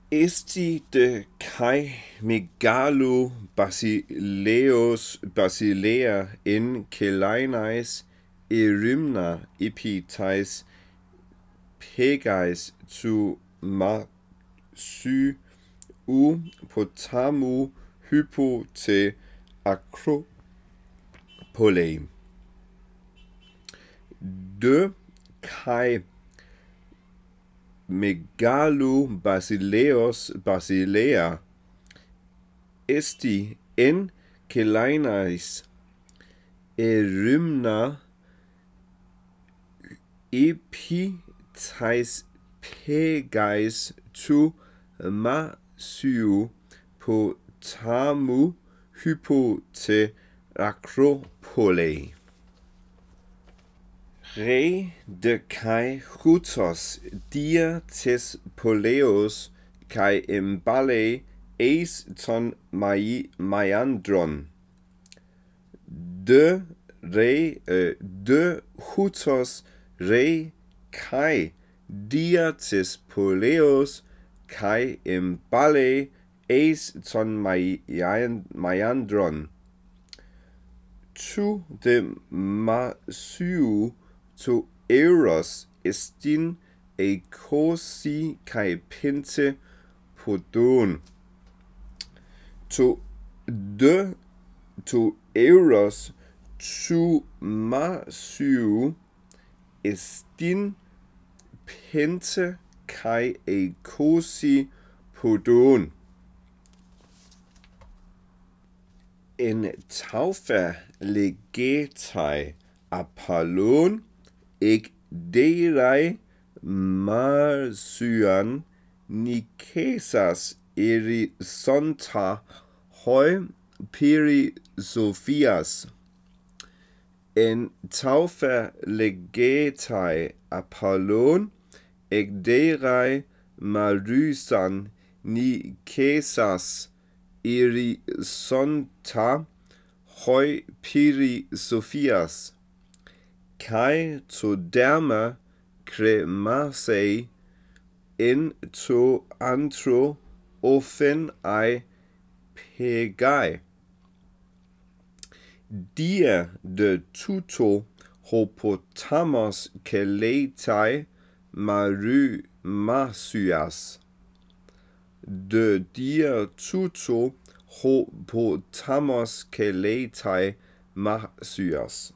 Esti de kai megalo basilea in kelainais erymna epitais pegais tu sy u potamu hypo te acropole. De kai megalo basilea esti en kelainais erymna epitais pegais tu potamu hypo te acropole. Re de kai hutos dia tes poleos kai embale eis ton maiandron. De hutos re kai dia tes poleos kai embale eis ton maiandron. Tu de to euros estin e cosi kai pinte podon. To euros tu estin pinte kai e cosi podon. En taufa legetai Apollon eg derai marsuan Nikesas erisonta hoi piri Sophias. En taufa legetai Apollon eg derai marusan Nikesas erisonta hoi piri Sophias. Kai to derma cremasei in to antro ofen ai pegai. Dia de tuto hopotamos keletai marsuas. De dia tuto hopotamos keletai marsuas.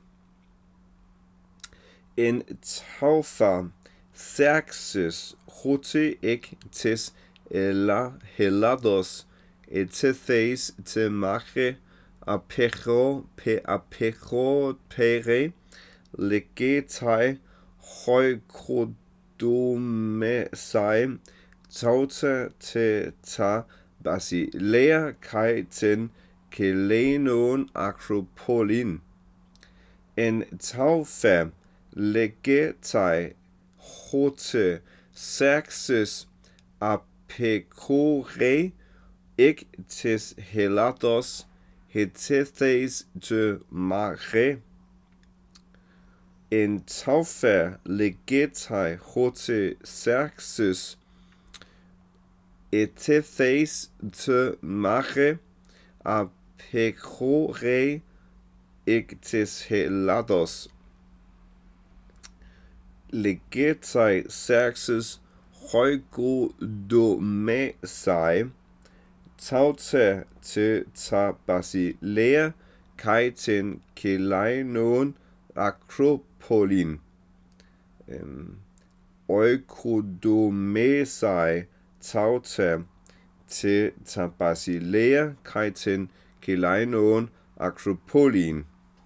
En taufa Xerxes hote ek tes helados etethes te mache apero pere legetai hoi kodomesai tauta te ta basilea kai ten kelenon acropolin. En taufa legetai hote Xerxes apecore ek tes helados hetethes te mache. En taufa legetai hote Xerxes etethes te mache apecore ek tes helados. Legetai Xerxes hoikodomesai tauta te ta basilea kai ten kelainon acropolin. Oikodomesai tauta te ta basilea kai ten kelainon acropolin.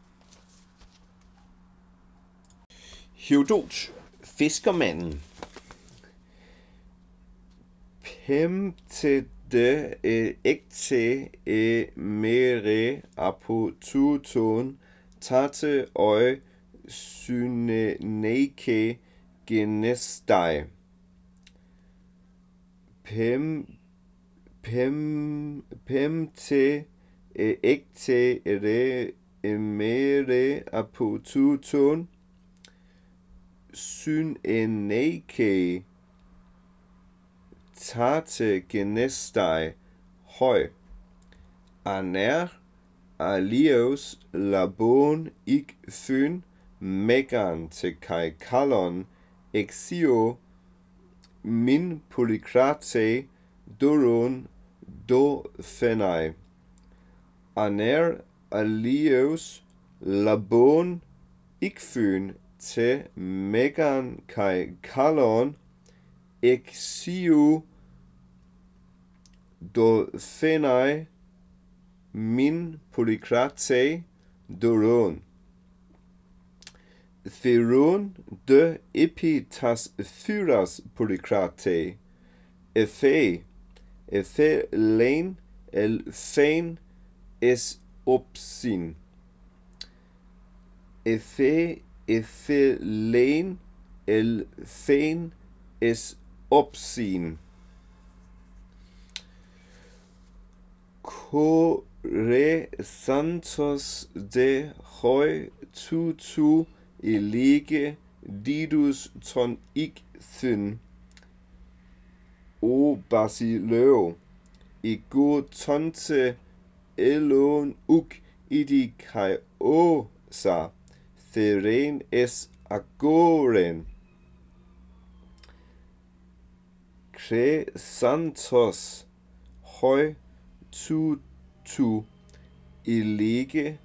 Herodot, fiskermanden. Pemte de ekte mere apotuton tate oi syneneke genestai. Pemte ekte mere apotuton syneneke tate genestai hoi. Aner alios labon ik fyn megan te kai kalon exio min polykrate doron do phenai. Aner alios labon ik fyn te megan kai kalon exio do phenai min polykrate doron. Theron de epitas thyras polykrate. Ethe len el phen es opsin. Ethe len el phen es opsin. Kore santos de hoi tutu elege didus ton ik thyn o basileo ego tonte elon uk idi kai o sa theren es agoren. Kre santos hoi tutu elege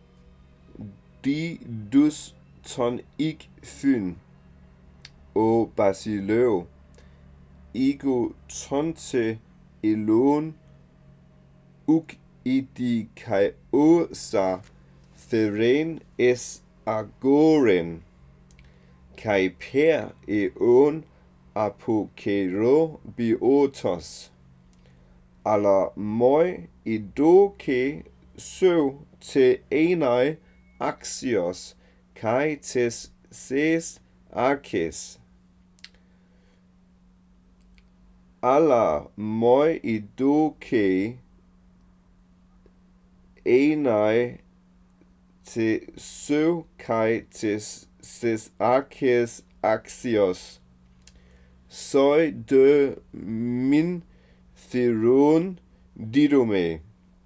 didus ton ik thyn o basileo ego tonte elon uk idi kai o sa theren es agoren. Kai per eon apokero biotos. Alla moi idoke søv te enai axios kai tes ses arches. Alla moi idoke enai te søv kai tes ses arches axios. Soi de min theron didome.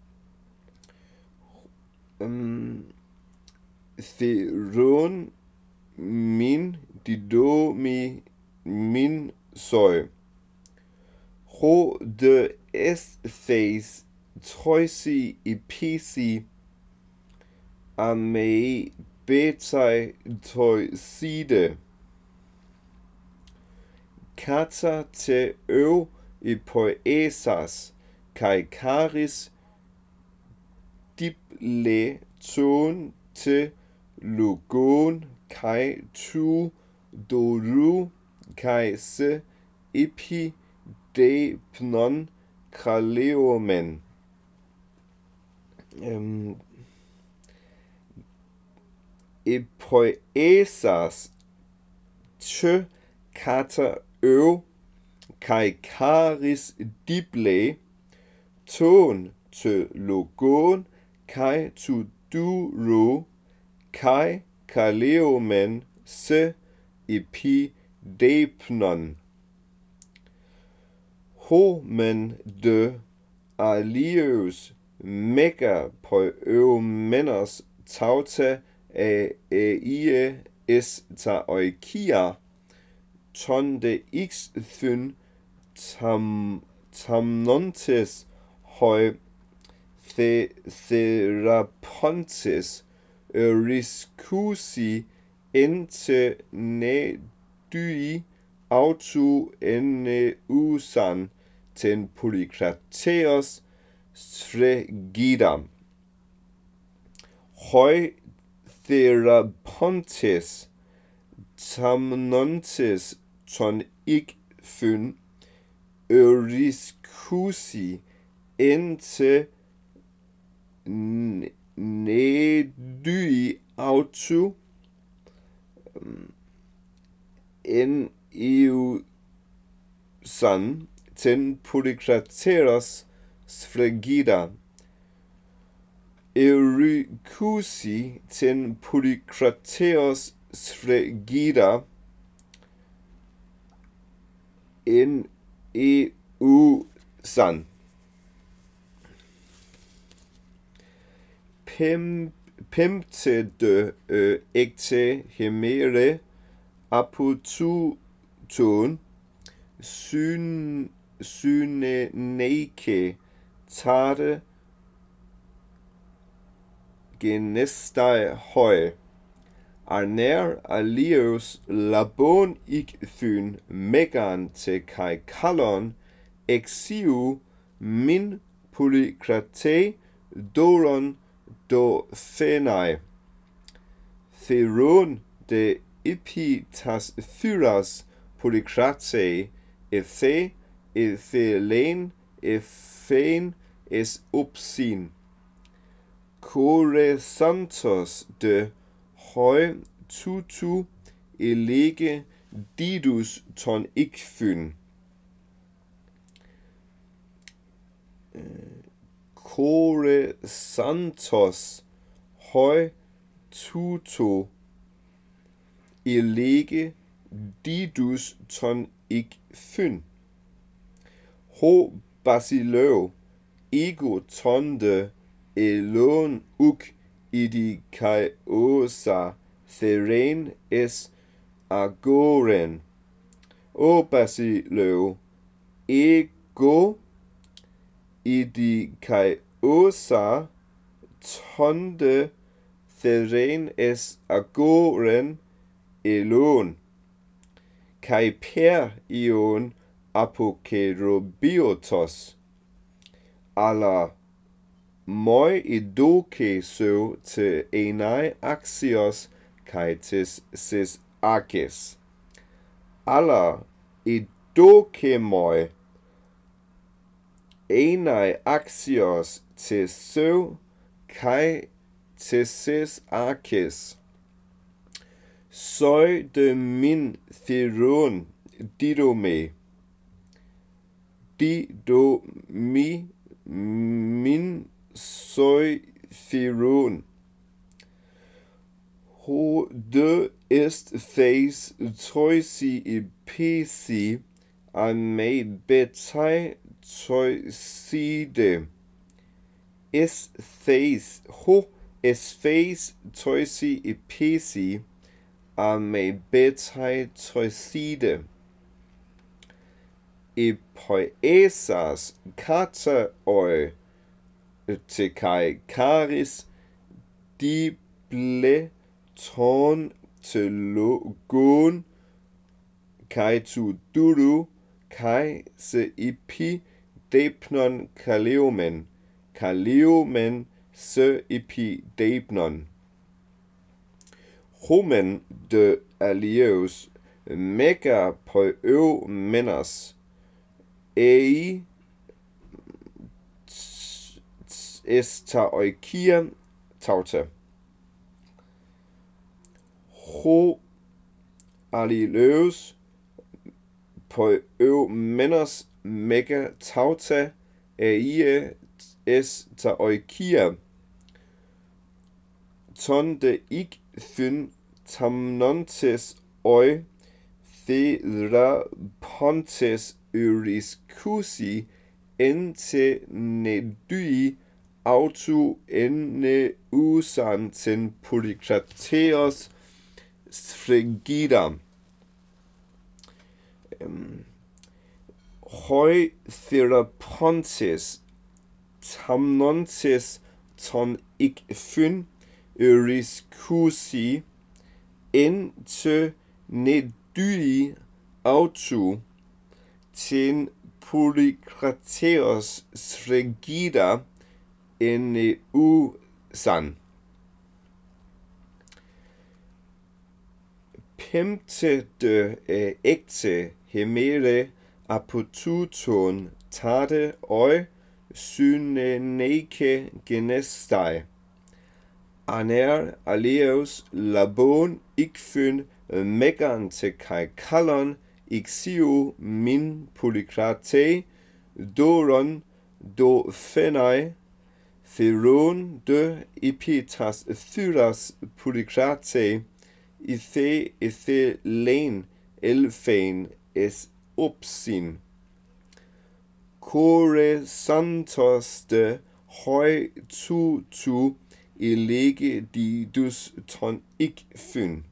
Theron min didomi min soi. Ho de esthes toisi episi amei betai toiside. Kata te eu epoesas kai karis diple ton te logon kai tu doru kai se epi de pnon kraleomen. Epoesas te kata eu kai karis dible ton te logon kai tu duro kai kaleomen se epi depnon. Homen de alios mega po eumenos tauta ie es ta oikia ton de x thyn tamnontes hoi therapontes riscusi ente ne dui autu ene usan ten polykrateos sfregidam. Hoi therapontes tamnontes ton ik thyn riscusi ente ne dui autu en eusan ten polykrateos sfregida. Eurycusi ten polykrateos sfregida en usan. Pemtede ekte hemere apotuton syneneke tade genestai høj. Arner alios labon ikthyn megan te kai kalon exiu min polykrate doron do phenai. Theron de ipitas thyras polykrate ethelen ethen es upsin. Koresantos de høj tutu elege didus ton ikthyn. Koresantos høj tutu elege didus ton ikthyn. Ho basiløv ego tonde elon uk idi kai osa theren es agoren. O basiløv ego idi kai osa tonde theren es agoren elon. Kai per ion apokerobiotos. Alla moi idoke so te enai axios kai tis sis akis. Alla idoke moi enai axios te so kai tis sis akis. Soi de min theron dido me. Dido mi min soi theron. Ho de est theis toisi episi a me betai toiside. Es theis ho es theis toisi episi a me betai toiside. Epoesas kata oi te kai karis dible ton te logon kai tu duru kai se ipi depnon kaleomen se ipi depnon. Homen de alios mega poeu menas ei esta oikia tauta. Ho alileus poeu menas mega tauta ei esta oikia. Ton de ik thyn tamnontes oi thera pontes euriscusi ente nedui autu enne usanten polykrateos sfregida. Hoi therapontes tamnontes ton ik thyn euriscusi ente nedui autu ten polykrateos sfregida enne usan. Pemte de ekte hemere apotuton tade oi syneneke genestai. Aner aleos labon ikthyn megan te kai kalon ixiu min polykrate doron do phenai. Theron de ipitas thyras polykrate ethelen elfen es upsin. Koresantoste høj tu elege de dus ton ik fyn.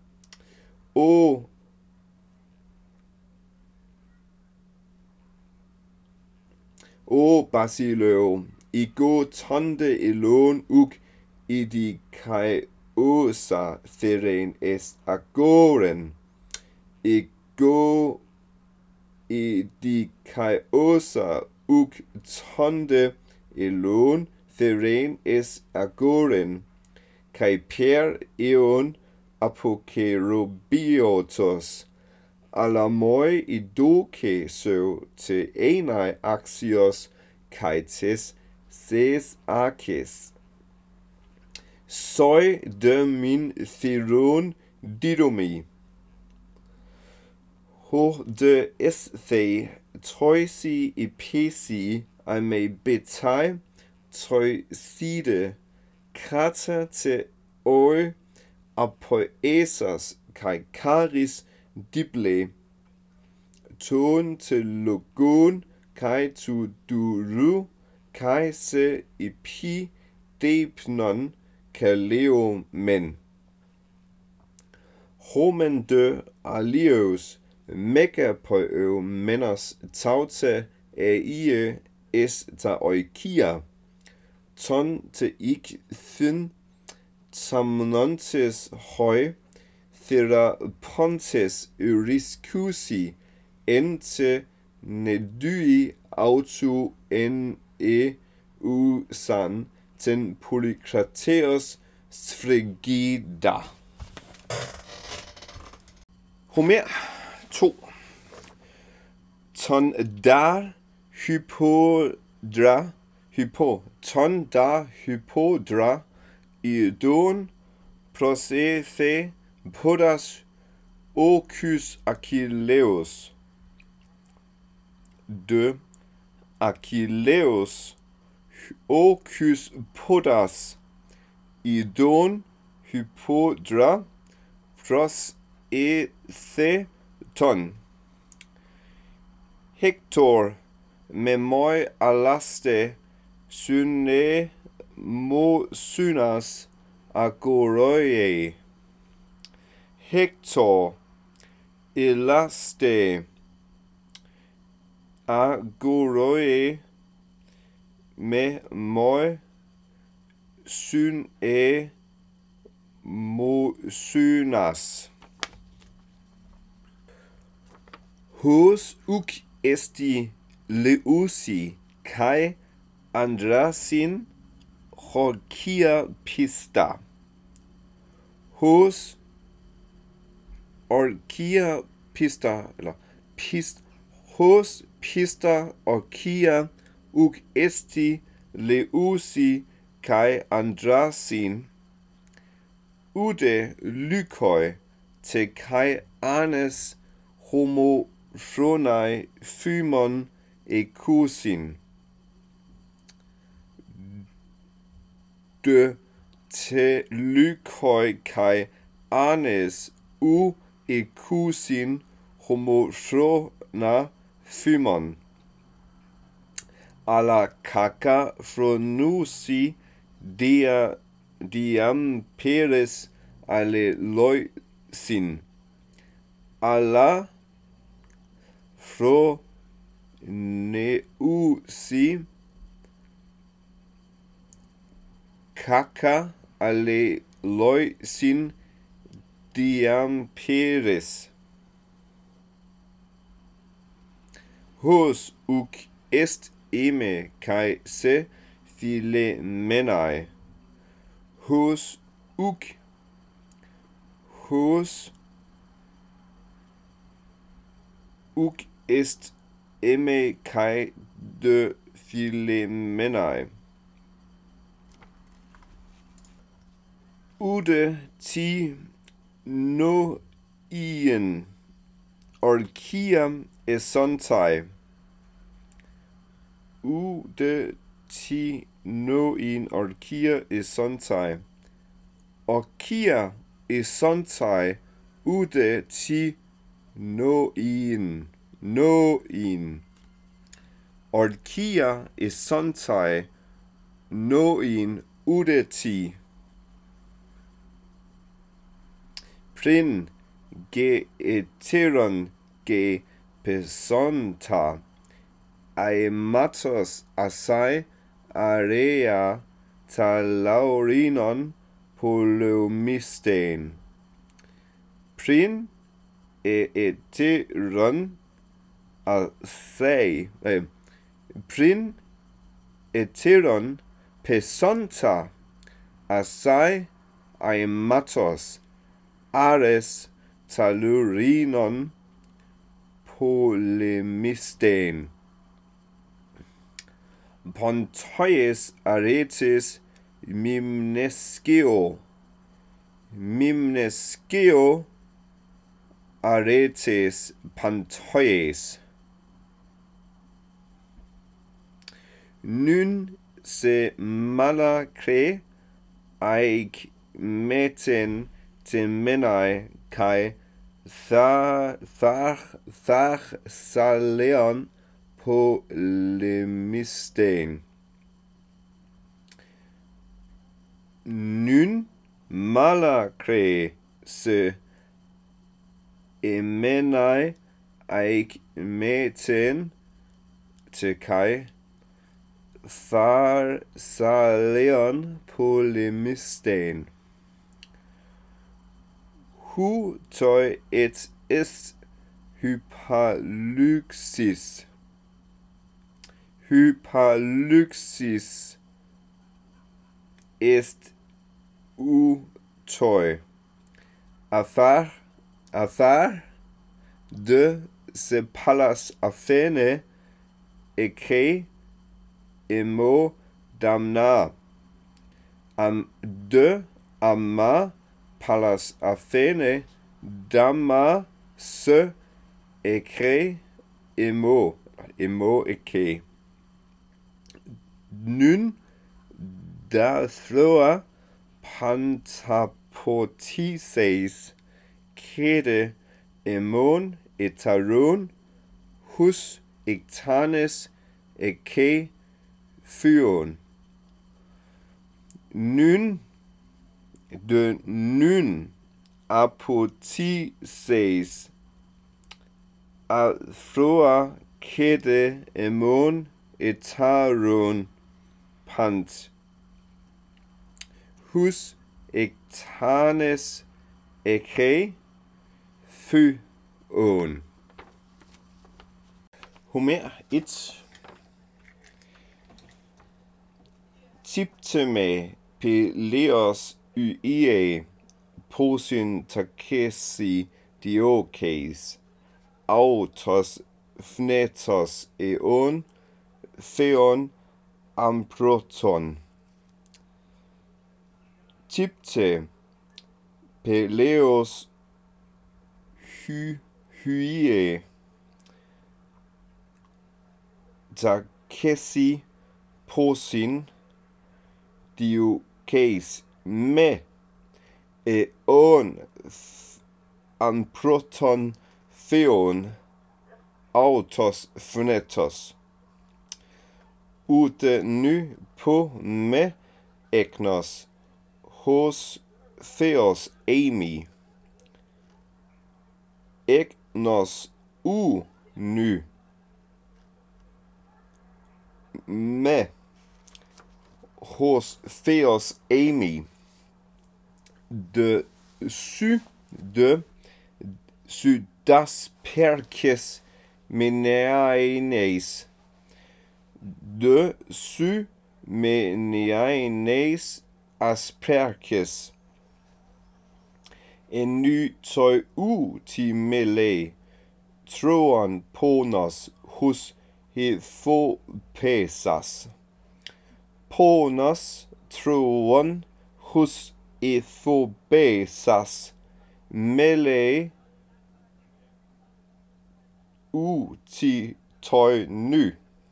O Basileo, I go tonde elon uk I di kai osa theren est agoren. I go I di kai osa uk tonde elon theren est agoren. Kai per eon apokerobiotos. Alamoi idoke so te enai axios kaites ses akis. Soi de min theron didomi. Ho de esthe toisi ipesi I me betai toi side krata te oi apoesas kai karis dible ton te logon kai tu duru kai se ipi depnon kaleo men. Homen de alios mega poeo menos taute ie es ta oikia ton te ik thyn tamnontes hoi thera pontes euriscusi ente nedui autu en usan ten polykrateos sfrigida. Homer 2. Ton dar hypodra idon prosethe podas ocus Achilleus. De Achilleus ocus podas idon hypodra prosethe ton. Hector memoi alaste syne mo synas agoroie. Hector elaste agoroie me moi syne mo synas. Hos uk esti leusi kai andrasin horkia pista. Hos orkia pista eller hos pista orkia uk esti leusi kai andrasin ude lykoi te kai anes homo phronai phymon ekusin. De te lykoi kai anes ekusin homo phrona phymon. Ala kaka phronusi diam peres alleloisin. Ala phroneusi kaka alleloisin diam peres. Hos uk est eme kai se philemenai. Hos uk est eme kai de philemenai. Ude ti no ien orkia esontai. Ude ti no ien orkia esontai. Orkia esontai ude ti no ien. Orkia sontai noin udeti. Prin ge eteron ge pesonta. Aematos asai area talaurinon polomisten. Prin eteron asai prin eteron pesonta asai aematos ares talurinon polemisten. Pontoies aretes mimnescio. Mimnescio aretes pontoies. Nun se malacre aig meten temenai kai thar saleon polemisten. Nun malacre se emenai aig meten te kai thar saleon polemisten. Hu toi et est hypaluxis. Hypaluxis est toi. Athar de se palas athene eke emo damna. De amma palas athene damma se eke emo eke. Nun da thloa pantapotises kede emon etaron hus ectanes eke fyron. Nun de nun apotises athroa kede emon etaron pant hus ectanes eke fyron. Homer 1. Tipteme Peleos Uie posin takesi diokes autos phnetos eon theon ambroton. Tipte Peleos Uie takesi posin diokes me eon ambroton theon autos phnetos. Ute nu po me eknos hos theos emi. Eknos nu me hos theos emi. De su das perkes meneaines. De su meneaines asperkes. En ny toi ti mele troan ponos hos Hethopesas. Ponos troan hos Hethopesas mele ti toi ny.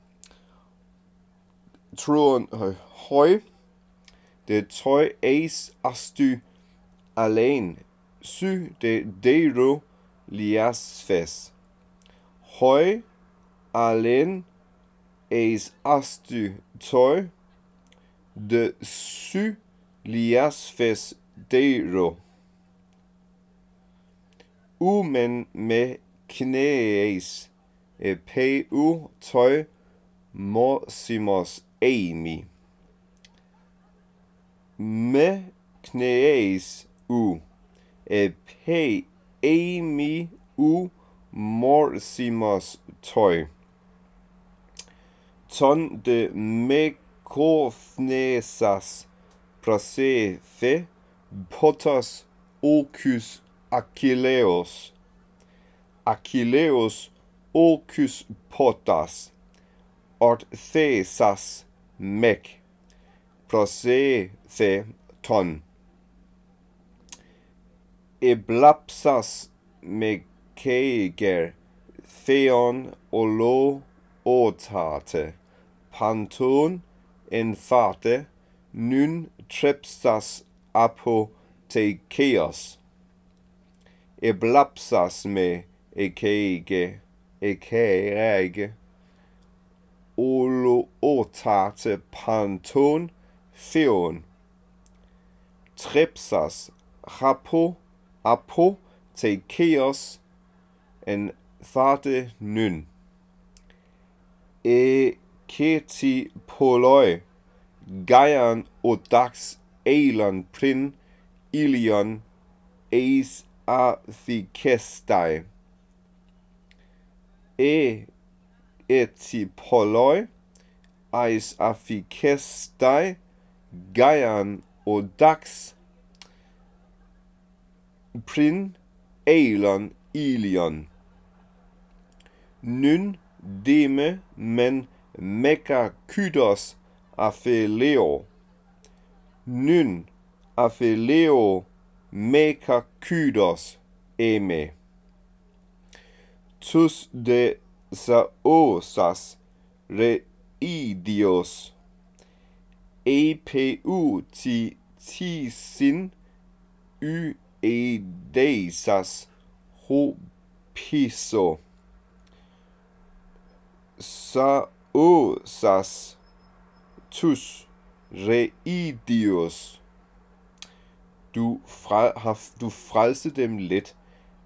Troan høj. Det toi eis astu alen. Sy de dero liasfes. Høj alen eis astu toi, de su liasfes deiro. Men me knees, peu toi morsimos eimi. Me knees pe eimi morsimos toi. Ton de me kofnesas prase the potos ocus Achilleos. Achilleos ocus potas, ort thesas mec, prase the ton. Eblapsas meceger theon olo otate, panton enfate, nun trepsas apotekeos. Eblapsas me ekege, olo otate panton theon. Trepsas apotekeos en thate nun. Keti poloi, gaian odax elon prin ilion eis athikestai. Eti poloi, eis athikestai, gaian odax prin elon ilion. Nun deme men mekakydos apheleo. Nun apheleo mekakydos eme. Tus de saosas reidios. Peu ti sin edeisas hopiso. Saosas tus reidios. Du frelse dem let.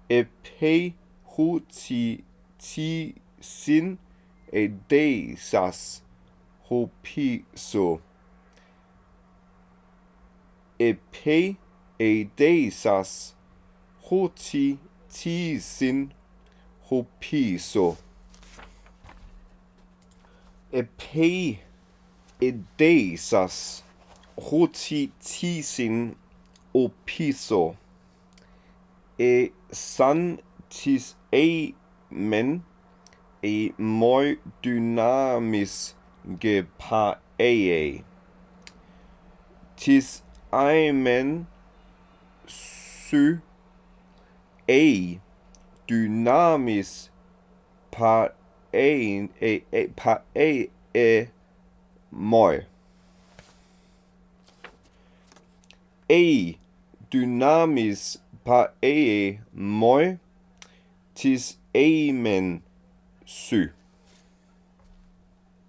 Peu ti sin edeisas hopiso. Epe edeisas hoti ti sin hopiso. Epe edeisas hoti ti sin hopiso. San tis men moi dynamis gepae. Tis men sy dynamis pae moi. Dynamis pae moi, tis men sy.